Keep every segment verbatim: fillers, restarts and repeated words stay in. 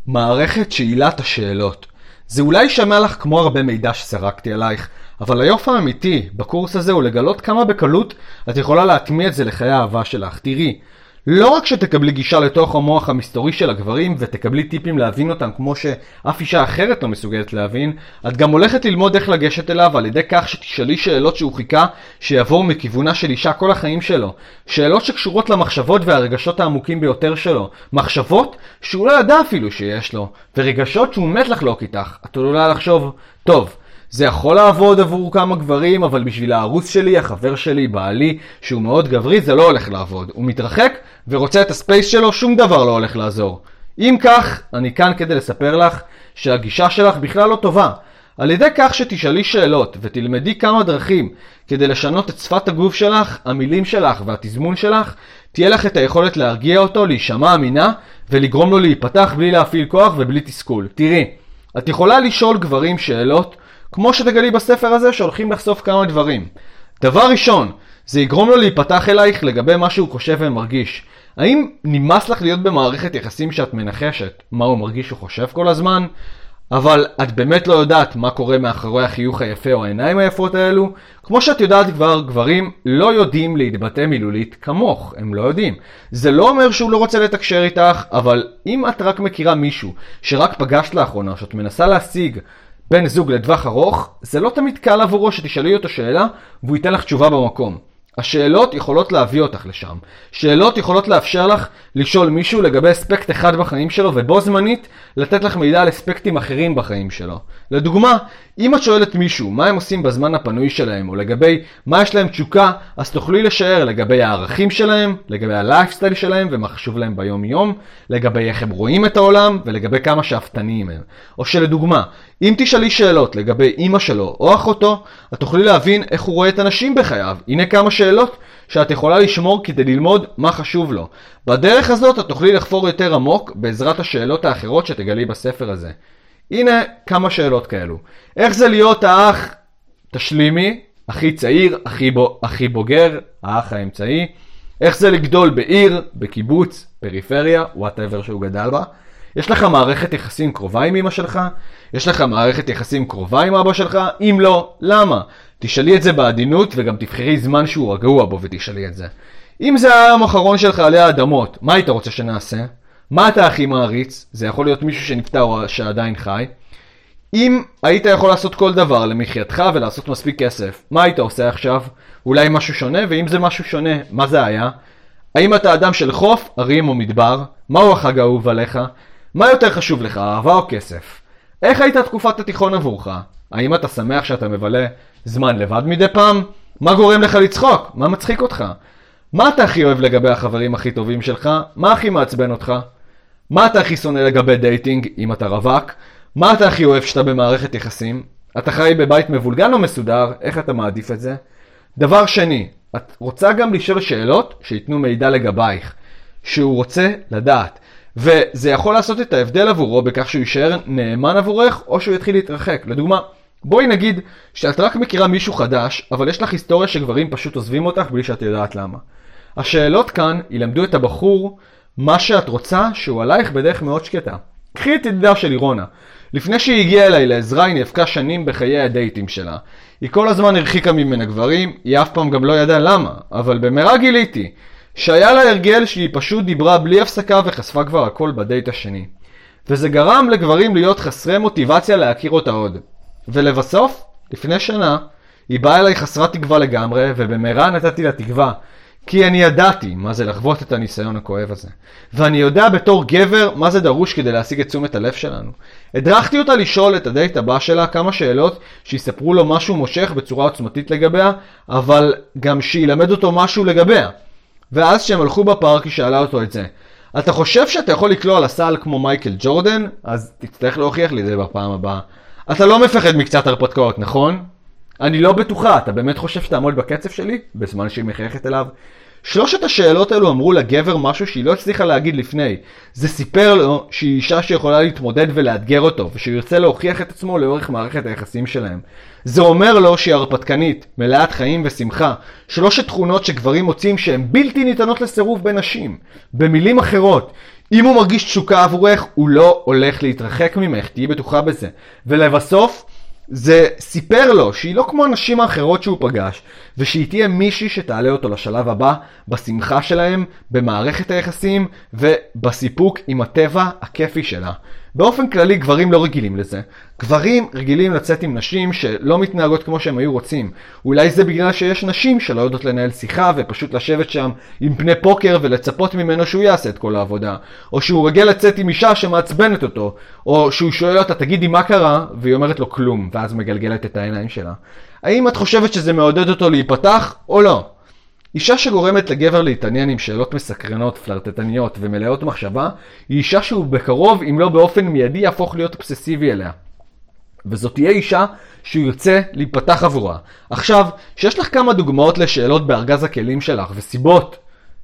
מערכת שאלת השאלות. זה אולי יישמע לך כמו הרבה מידע שסרקתי עלייך, אבל היופי האמיתי בקורס הזה הוא לגלות כמה בקלות את יכולה להטמיע את זה לחיי האהבה שלך. תראי, לא רק שתקבלי גישה לתוך המוח המסתורי של הגברים ותקבלי טיפים להבין אותם כמו שאף אישה אחרת לא מסוגלת להבין, את גם הולכת ללמוד איך לגשת אליו על ידי כך שתשאלי שאלות שהוא חיכה שיעבור מכיוונה של אישה כל החיים שלו. שאלות שקשורות למחשבות והרגשות העמוקים ביותר שלו. מחשבות שהוא לא ידע אפילו שיש לו, ורגשות שהוא מת לחלוק איתך. את עלולה לחשוב, טוב, זה יכול לעבוד עבור כמה גברים, אבל בשביל הערוץ שלי, החבר שלי, בעלי, שהוא מאוד גברי, זה לא הולך לעבוד. הוא מתרחק ורוצה את הספייס שלו, שום דבר לא הולך לעזור. אם כך, אני כאן כדי לספר לך שהגישה שלך בכלל לא טובה. על ידי כך שתשאלי שאלות ותלמדי כמה דרכים כדי לשנות את שפת הגוף שלך, המילים שלך והתזמון שלך, תהיה לך את היכולת להרגיע אותו, להישמע אמינה ולגרום לו להיפתח בלי להפעיל כוח ובלי תסכול. תראי, את יכולה לשאול גברים שאלות, כמו שתגלי בספר הזה שהולכים לחשוף כמה דברים. דבר ראשון, זה יגרום לו להיפתח אלייך לגבי מה שהוא חושב ומרגיש. האם נמאס לך להיות במערכת יחסים שאת מנחשת מה הוא מרגיש וחושב כל הזמן, אבל את באמת לא יודעת מה קורה מאחורי החיוך היפה או העיניים היפות האלו? כמו שאת יודעת כבר, גברים לא יודעים להתבטא מילולית כמוך, הם לא יודעים. זה לא אומר שהוא לא רוצה לתקשר איתך, אבל אם את רק מכירה מישהו שרק פגשת לאחרונה, שאת מנסה להשיג בן זוג לטווח ארוך, זה לא תמיד קל עבורו שתשאלי אותו שאלה והוא ייתן לך תשובה במקום. השאלות יכולות להביא אותך לשם. שאלות יכולות לאפשר לך לשאול מישהו לגבי אספקט אחד בחיים שלו, ובו זמנית לתת לך מידע על אספקטים אחרים בחיים שלו. לדוגמה, אם את שואלת מישהו מה הם עושים בזמן הפנוי שלהם, או לגבי מה יש להם תשוקה, אז תוכלי לשער לגבי הערכים שלהם, לגבי הלייפסטייל שלהם ומה חשוב להם ביום יום, לגבי איך הם רואים את העולם ולגבי כמה שאפתניים הם. או שלדוגמה, אם תשאלי שאלות לגבי אמא שלו או אחותו, את תוכלי להבין איך הוא רואה את אנשים בחייו. הנה כמה שאלות שאת יכולה לשמור כדי ללמוד מה חשוב לו. בדרך הזאת את תוכלי לחפור יותר עמוק בעזרת השאלות האחרות שתגלי בספר הזה. הנה כמה שאלות כאלו. איך זה להיות האח, תשלימי, הכי צעיר, הכי, בו, הכי בוגר, האח האמצעי? איך זה לגדול בעיר, בקיבוץ, פריפריה, whatever שהוא גדל בה? יש לך מערכת יחסים קרובה עם אמא שלך? יש לך מערכת יחסים קרובה עם אבא שלך? אם לא, למה? תשאלי את זה בעדינות וגם תבחרי זמן שהוא רגוע בו ותשאלי את זה. אם זה היום האחרון שלך עלי האדמות, מה היית רוצה שנעשה? מה אתה הכי מעריץ? זה יכול להיות מישהו שנפטר או שעדיין חי. אם היית יכול לעשות כל דבר למחייתך ולעשות מספיק כסף, מה היית עושה עכשיו? אולי משהו שונה? ואם זה משהו שונה, מה זה היה? האם אתה אדם של חוף, ערים או מדבר? מהו החג האהוב עליך? מה יותר חשוב לך, אהבה או כסף? איך הייתה תקופת התיכון עבורך? האם אתה שמח שאתה מבלה זמן לבד מדי פעם? מה גורם לך לצחוק? מה מצחיק אותך? מה אתה הכי אוהב לגבי החברים הכי טובים שלך? מה הכי מעצבן אותך? מה אתה הכי שונא לגבי דייטינג אם אתה רווק? מה אתה הכי אוהב שאתה במערכת יחסים? אתה חי בבית מבולגן או מסודר? איך אתה מעדיף את זה? דבר שני, את רוצה גם לשאול שאלות שיתנו מידע לגבייך, שהוא רוצה לדעת. וזה יכול לעשות את ההבדל עבורו בכך שהוא יישאר נאמן עבורך או שהוא יתחיל להתרחק. לדוגמה, בואי נגיד שאת רק מכירה מישהו חדש, אבל יש לך היסטוריה שגברים פשוט עוזבים אותך בלי שאת יודעת למה. השאלות כאן ילמדו את הבחור מה שאת רוצה שהוא עלייך בדרך מאוד שקטה. קחי את ידידה של אירונה. לפני שהיא הגיעה אליי לעזרה היא נאבקה שנים בחיי הדייטים שלה. היא כל הזמן הרחיקה ממנה גברים, היא אף פעם גם לא ידעה למה, אבל במהרה גיליתי שהיה לה הרגל שהיא פשוט דיברה בלי הפסקה וחשפה כבר הכל בדייט השני. וזה גרם לגברים להיות חסרי מוטיבציה להכיר אותה עוד. ולבסוף, לפני שנה, היא באה אליי חסרת תקווה לגמרי, ובמהרה נתתי לה תקווה, כי אני ידעתי מה זה לחוות את הניסיון הכואב הזה. ואני יודע בתור גבר מה זה דרוש כדי להשיג את תשומת הלב שלנו. הדרכתי אותה לשאול את הדייט הבא שלה כמה שאלות שיספרו לו משהו מושך בצורה עוצמתית לגביה, אבל גם שילמד אותו משהו לגביה. ואז כשהם הלכו בפארק היא שאלה אותו את זה. אתה חושב שאתה יכול לקלוע לסל כמו מייקל ג'ורדן? אז תצטרך להוכיח לי זה בפעם הבאה. אתה לא מפחד מקצת הרפתקאות, נכון? אני לא בטוחה, אתה באמת חושב שתעמוד בקצב שלי? בזמן שהיא מחייכת אליו. שלושת השאלות האלו אמרו לגבר משהו שהיא לא הצליחה להגיד לפני. זה סיפר לו שהיא אישה שיכולה להתמודד ולאתגר אותו, ושהוא ירצה להוכיח את עצמו לאורך מערכת היחסים שלהם. זה אומר לו שהיא הרפתקנית, מלאת חיים ושמחה. שלושת תכונות שגברים מוצאים שהן בלתי ניתנות לסירוב בנשים. במילים אחרות, אם הוא מרגיש תשוקה עבורך, הוא לא הולך להתרחק ממך, תהיי בטוחה בזה. ולבסוף, זה סיפר לו שהיא לא כמו הנשים האחרות שהוא פגש, ושהיא תהיה מישהי שתעלה אותו לשלב הבא, בשמחה שלהם, במערכת היחסים, ובסיפוק עם הטבע הכיפי שלה. באופן כללי גברים לא רגילים לזה. גברים רגילים לצאת עם נשים שלא מתנהגות כמו שהם היו רוצים. אולי זה בגלל שיש נשים שלא יודעות לנהל שיחה ופשוט לשבת שם עם פני פוקר ולצפות ממנו שהוא יעשה את כל העבודה. או שהוא רגיל לצאת עם אישה שמעצבנת אותו. או שהוא שואל אותה תגידי מה קרה והיא אומרת לו כלום ואז מגלגלת את העיניים שלה. האם את חושבת שזה מעודד אותו להיפתח או לא? אישה שגורמת לגבר להתעניין עם שאלות מסקרנות, פלרטטניות ומלאות מחשבה, היא אישה שהוא בקרוב, אם לא באופן מיידי, יהפוך להיות אובססיבי אליה. וזאת תהיה אישה שהוא יוצא להיפתח עבורה. עכשיו, שיש לך כמה דוגמאות לשאלות בארגז הכלים שלך וסיבות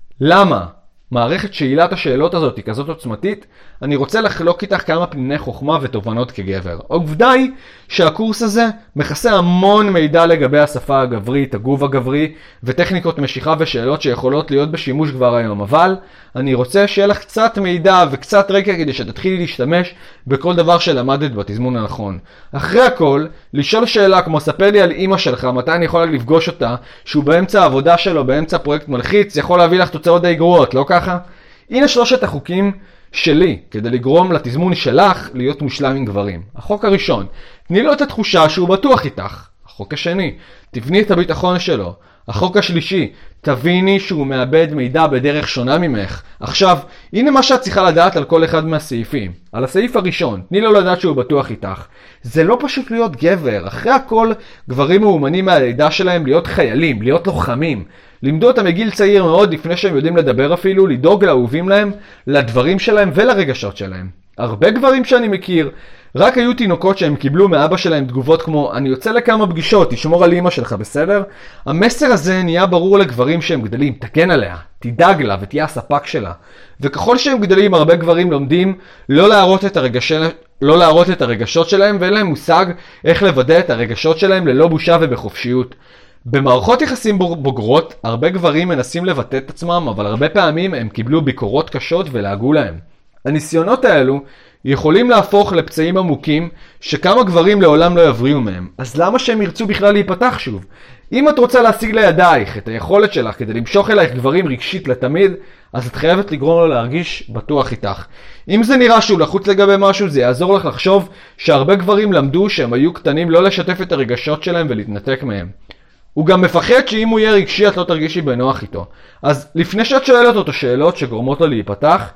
למה מערכת שאלת השאלות הזאת היא כזאת עוצמתית, אני רוצה לחלוק איתך כמה פניני חוכמה ותובנות כגבר. העובדה היא שהקורס הזה מכסה המון מידע לגבי השפה הגברית, הגוף הגברי וטכניקות משיכה ושאלות שיכולות להיות בשימוש כבר היום. אבל אני רוצה שיהיה לך קצת מידע וקצת רקע כדי שתתחילי להשתמש בכל דבר שלמדת בתזמון הנכון. אחרי הכל, לשאול שאלה כמו ספר לי על אמא שלך, מתי אני יכולה לפגוש אותה, שהוא באמצע העבודה שלו, באמצע פרויקט מלחיץ, יכול להביא לך תוצאות די גרועות, לא ככה? הנה שלושת החוקים שלי כדי לגרום לתזמון שלך להיות מושלם עם גברים. החוק הראשון, תני לו את התחושה שהוא בטוח איתך. החוק השני, תבני את הביטחון שלו. החוק השלישי, תביני שהוא מאבד מידע בדרך שונה ממך. עכשיו, הנה מה שאת צריכה לדעת על כל אחד מהסעיפים. על הסעיף הראשון, תני לו לדעת שהוא בטוח איתך. זה לא פשוט להיות גבר. אחרי הכל, גברים מאומנים מהלידה שלהם להיות חיילים, להיות לוחמים. לימדו אותם מגיל צעיר מאוד לפני שהם יודעים לדבר אפילו, לדאוג לאהובים להם, לדברים שלהם ולרגשות שלהם. הרבה גברים שאני מכיר, רק היו תינוקות שהם קיבלו מאבא שלהם תגובות כמו אני יוצא לכמה פגישות, תשמור על אמא שלך, בסדר? המסר הזה נהיה ברור לגברים שהם גדלים, תגן עליה, תדאג לה ותהיה הספק שלה. וככל שהם גדלים, הרבה גברים לומדים לא להראות את הרגש... לא להראות את הרגשות שלהם, ואין להם מושג איך לוודא את הרגשות שלהם ללא בושה ובחופשיות. במערכות יחסים בוגרות, הרבה גברים מנסים לבטא את עצמם, אבל הרבה פעמים הם קיבלו ביקורות קשות ולהגו להם. הניסיונות האלו יכולים להפוך לפצעים עמוקים שכמה גברים לעולם לא יבריאו מהם. אז למה שהם ירצו בכלל להיפתח שוב? אם את רוצה להשיג לידייך את היכולת שלך כדי למשוך אלייך גברים רגשית לתמיד, אז את חייבת לגרום לו להרגיש בטוח איתך. אם זה נראה שהוא לחוץ לגבי משהו, זה יעזור לך לחשוב שהרבה גברים למדו שהם היו קטנים לא לשתף את הרגשות שלהם ולהתנתק מהם. הוא גם מפחד שאם הוא יהיה רגשי את לא תרגישי בנוח איתו. אז לפני שאת שואלת אותו שאלות שגורמות לו להיפתח,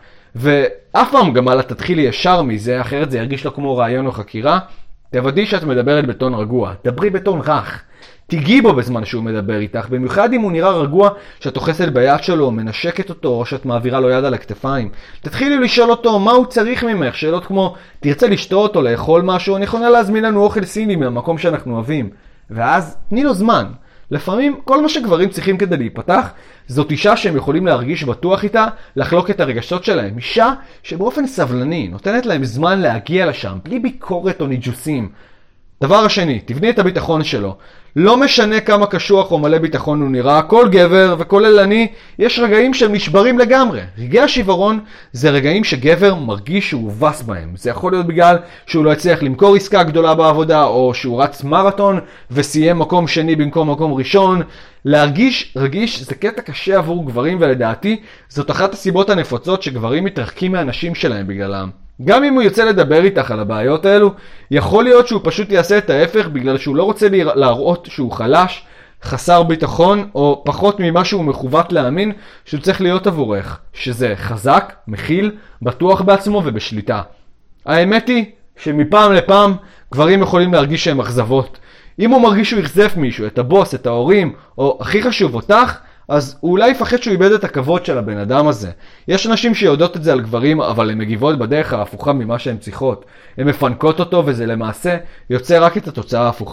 ואף פעם גם אלה תתחילי ישר מזה, אחרת זה ירגיש לו כמו רעיון או חקירה, תוודאי שאת מדברת בטון רגוע, דברי בטון רך. תיגעי בו בזמן שהוא מדבר איתך, במיוחד אם הוא נראה רגוע שאת אוחזת ביד שלו, מנשקת אותו או שאת מעבירה לו יד על הכתפיים. תתחילי לשאול אותו מה הוא צריך ממך, שאלות כמו תרצה לשתות או לאכול משהו, אני יכולה להזמין לנו אוכל סיני מהמקום שאנחנו אוהבים. ואז תני לו זמן. לפעמים כל מה שגברים צריכים כדי להיפתח זאת אישה שהם יכולים להרגיש בטוח איתה, לחלוק את הרגשות שלהם. אישה שבאופן סבלני נותנת להם זמן להגיע לשם, בלי ביקורת או ניג'וסים. דבר השני, תבני את הביטחון שלו. לא משנה כמה קשוח או מלא ביטחון הוא נראה, כל גבר וכולל אני, יש רגעים שהם נשברים לגמרי. רגעי השברון זה רגעים שגבר מרגיש שהוא הובס בהם. זה יכול להיות בגלל שהוא לא הצליח למכור עסקה גדולה בעבודה, או שהוא רץ מרתון וסיים מקום שני במקום מקום ראשון. להרגיש רגיש זה קטע קשה עבור גברים, ולדעתי זאת אחת הסיבות הנפוצות שגברים מתרחקים מהנשים שלהם בגללם. גם אם הוא יוצא לדבר איתך על הבעיות האלו, יכול להיות שהוא פשוט יעשה את ההפך בגלל שהוא לא רוצה להראות שהוא חלש, חסר ביטחון, או פחות ממה שהוא מכוות להאמין שהוא צריך להיות עבורך, שזה חזק, מכיל, בטוח בעצמו ובשליטה. האמת היא שמפעם לפעם גברים יכולים להרגיש שהם אכזבות. אם הוא מרגיש שהוא יחזף מישהו, את הבוס, את ההורים, או הכי חשוב אותך, אז הוא אולי יפחד שהוא איבד את הכבוד של הבן אדם הזה. יש אנשים שיודעות את זה על גברים, אבל הן מגיבות בדרך ההפוכה ממה שהן צריכות. הן מפנקות אותו, וזה למעשה יוצא רק את התוצאה ההפוכה.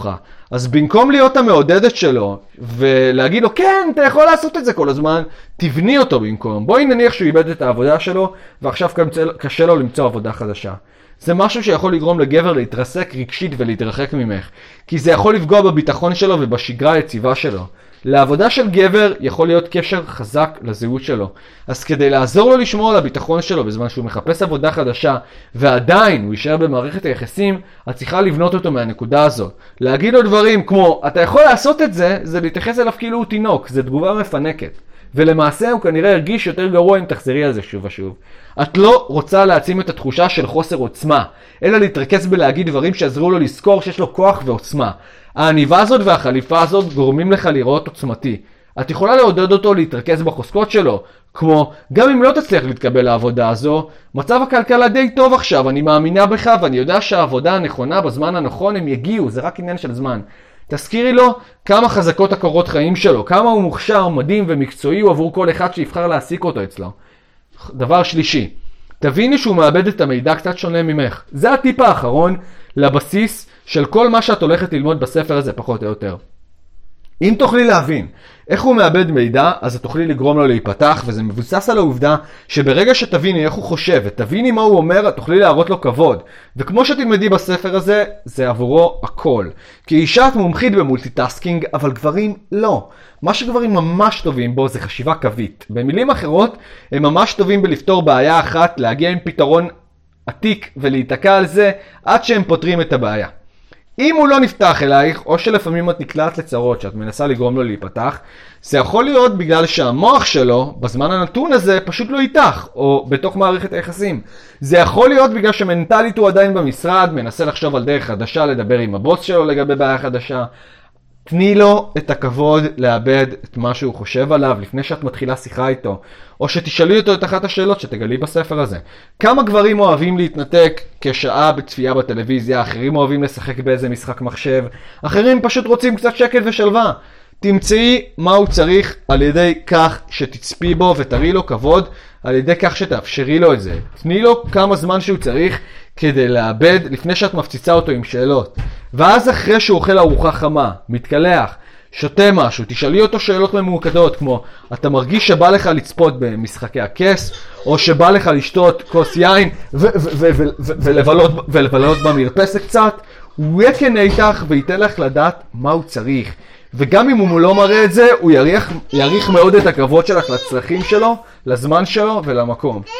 אז במקום להיות המעודדת שלו, ולהגיד לו, כן, אתה יכול לעשות את זה כל הזמן, תבני אותו במקום. בואי נניח שהוא איבד את העבודה שלו, ועכשיו קשה לו למצוא עבודה חדשה. זה משהו שיכול לגרום לגבר להתרסק רגשית ולהתרחק ממך, כי זה יכול לפגוע בביטחון שלו ובשגרה היציבה שלו. לעבודה של גבר יכול להיות קשר חזק לזהות שלו. אז כדי לעזור לו לשמור על הביטחון שלו בזמן שהוא מחפש עבודה חדשה, ועדיין הוא יישאר במערכת היחסים, את צריכה לבנות אותו מהנקודה הזאת. להגיד לו דברים כמו, אתה יכול לעשות את זה, זה להתייחס אליו כאילו הוא תינוק, זה תגובה מפנקת. ולמעשה הוא כנראה הרגיש יותר גרוע אם תחזרי על זה שוב ושוב. את לא רוצה להעצים את התחושה של חוסר עוצמה, אלא להתרכז בלהגיד דברים שעזרו לו לזכור שיש לו כוח ועוצמה. העניבה הזאת והחליפה הזאת גורמים לך לראות עוצמתי. את יכולה לעודד אותו להתרכז בחוזקות שלו, כמו, גם אם לא תצליח להתקבל לעבודה הזו, מצב הכלכלה די טוב עכשיו, אני מאמינה בך ואני יודע שהעבודה הנכונה בזמן הנכון הם יגיעו, זה רק עניין של זמן. תזכירי לו כמה חזקות הקורות חיים שלו, כמה הוא מוכשר, מדהים ומקצועי הוא עבור כל אחד שיבחר להעסיק אותו אצלו. דבר שלישי, תביני שהוא מאבד את המידע קצת שונה ממך. זה הטיפ האחרון לבסיס של כל מה שאת הולכת ללמוד בספר הזה פחות או יותר. אם תוכלי להבין איך הוא מאבד מידע, אז את תוכלי לגרום לו להיפתח, וזה מבוסס על העובדה שברגע שתביני איך הוא חושב ותביני מה הוא אומר, את תוכלי להראות לו כבוד. וכמו שתלמדי בספר הזה, זה עבורו הכל. כי אישה את מומחית במולטיטאסקינג, אבל גברים לא. מה שגברים ממש טובים בו זה חשיבה קווית. במילים אחרות, הם ממש טובים בלפתור בעיה אחת, להגיע עם פתרון עתיק ולהיתקע על זה עד שהם פותרים את הבעיה. אם הוא לא נפתח אלייך, או שלפעמים את נקלעת לצרות שאת מנסה לגרום לו להיפתח, זה יכול להיות בגלל שהמוח שלו, בזמן הנתון הזה, פשוט לא איתך, או בתוך מערכת היחסים. זה יכול להיות בגלל שמנטלית הוא עדיין במשרד, מנסה לחשוב על דרך חדשה, לדבר עם הבוס שלו לגבי בעיה חדשה. תני לו את הכבוד לאבד את מה שהוא חושב עליו לפני שאת מתחילה שיחה איתו, או שתשאלי אותו את אחת השאלות שתגלי בספר הזה. כמה גברים אוהבים להתנתק כשעה בצפייה בטלוויזיה, אחרים אוהבים לשחק באיזה משחק מחשב, אחרים פשוט רוצים קצת שקט ושלווה. תמצאי מה הוא צריך על ידי כך שתצפי בו ותראי לו כבוד, על ידי כך שתאפשרי לו את זה. תני לו כמה זמן שהוא צריך כדי לאבד לפני שאת מפציצה אותו עם שאלות. ואז אחרי שהוא אוכל ארוחה חמה, מתקלח, שותה משהו, תשאלי אותו שאלות ממוקדות כמו, אתה מרגיש שבא לך לצפות במשחקי הכס, או שבא לך לשתות כוס יין ולבלות במרפסת קצת, הוא יקנה איתך וייתן לך לדעת מה הוא צריך. וגם אם הוא לא מראה את זה, הוא יריח, יריח מאוד את הכבוד שלך לצרכים שלו, לזמן שלו ולמקום.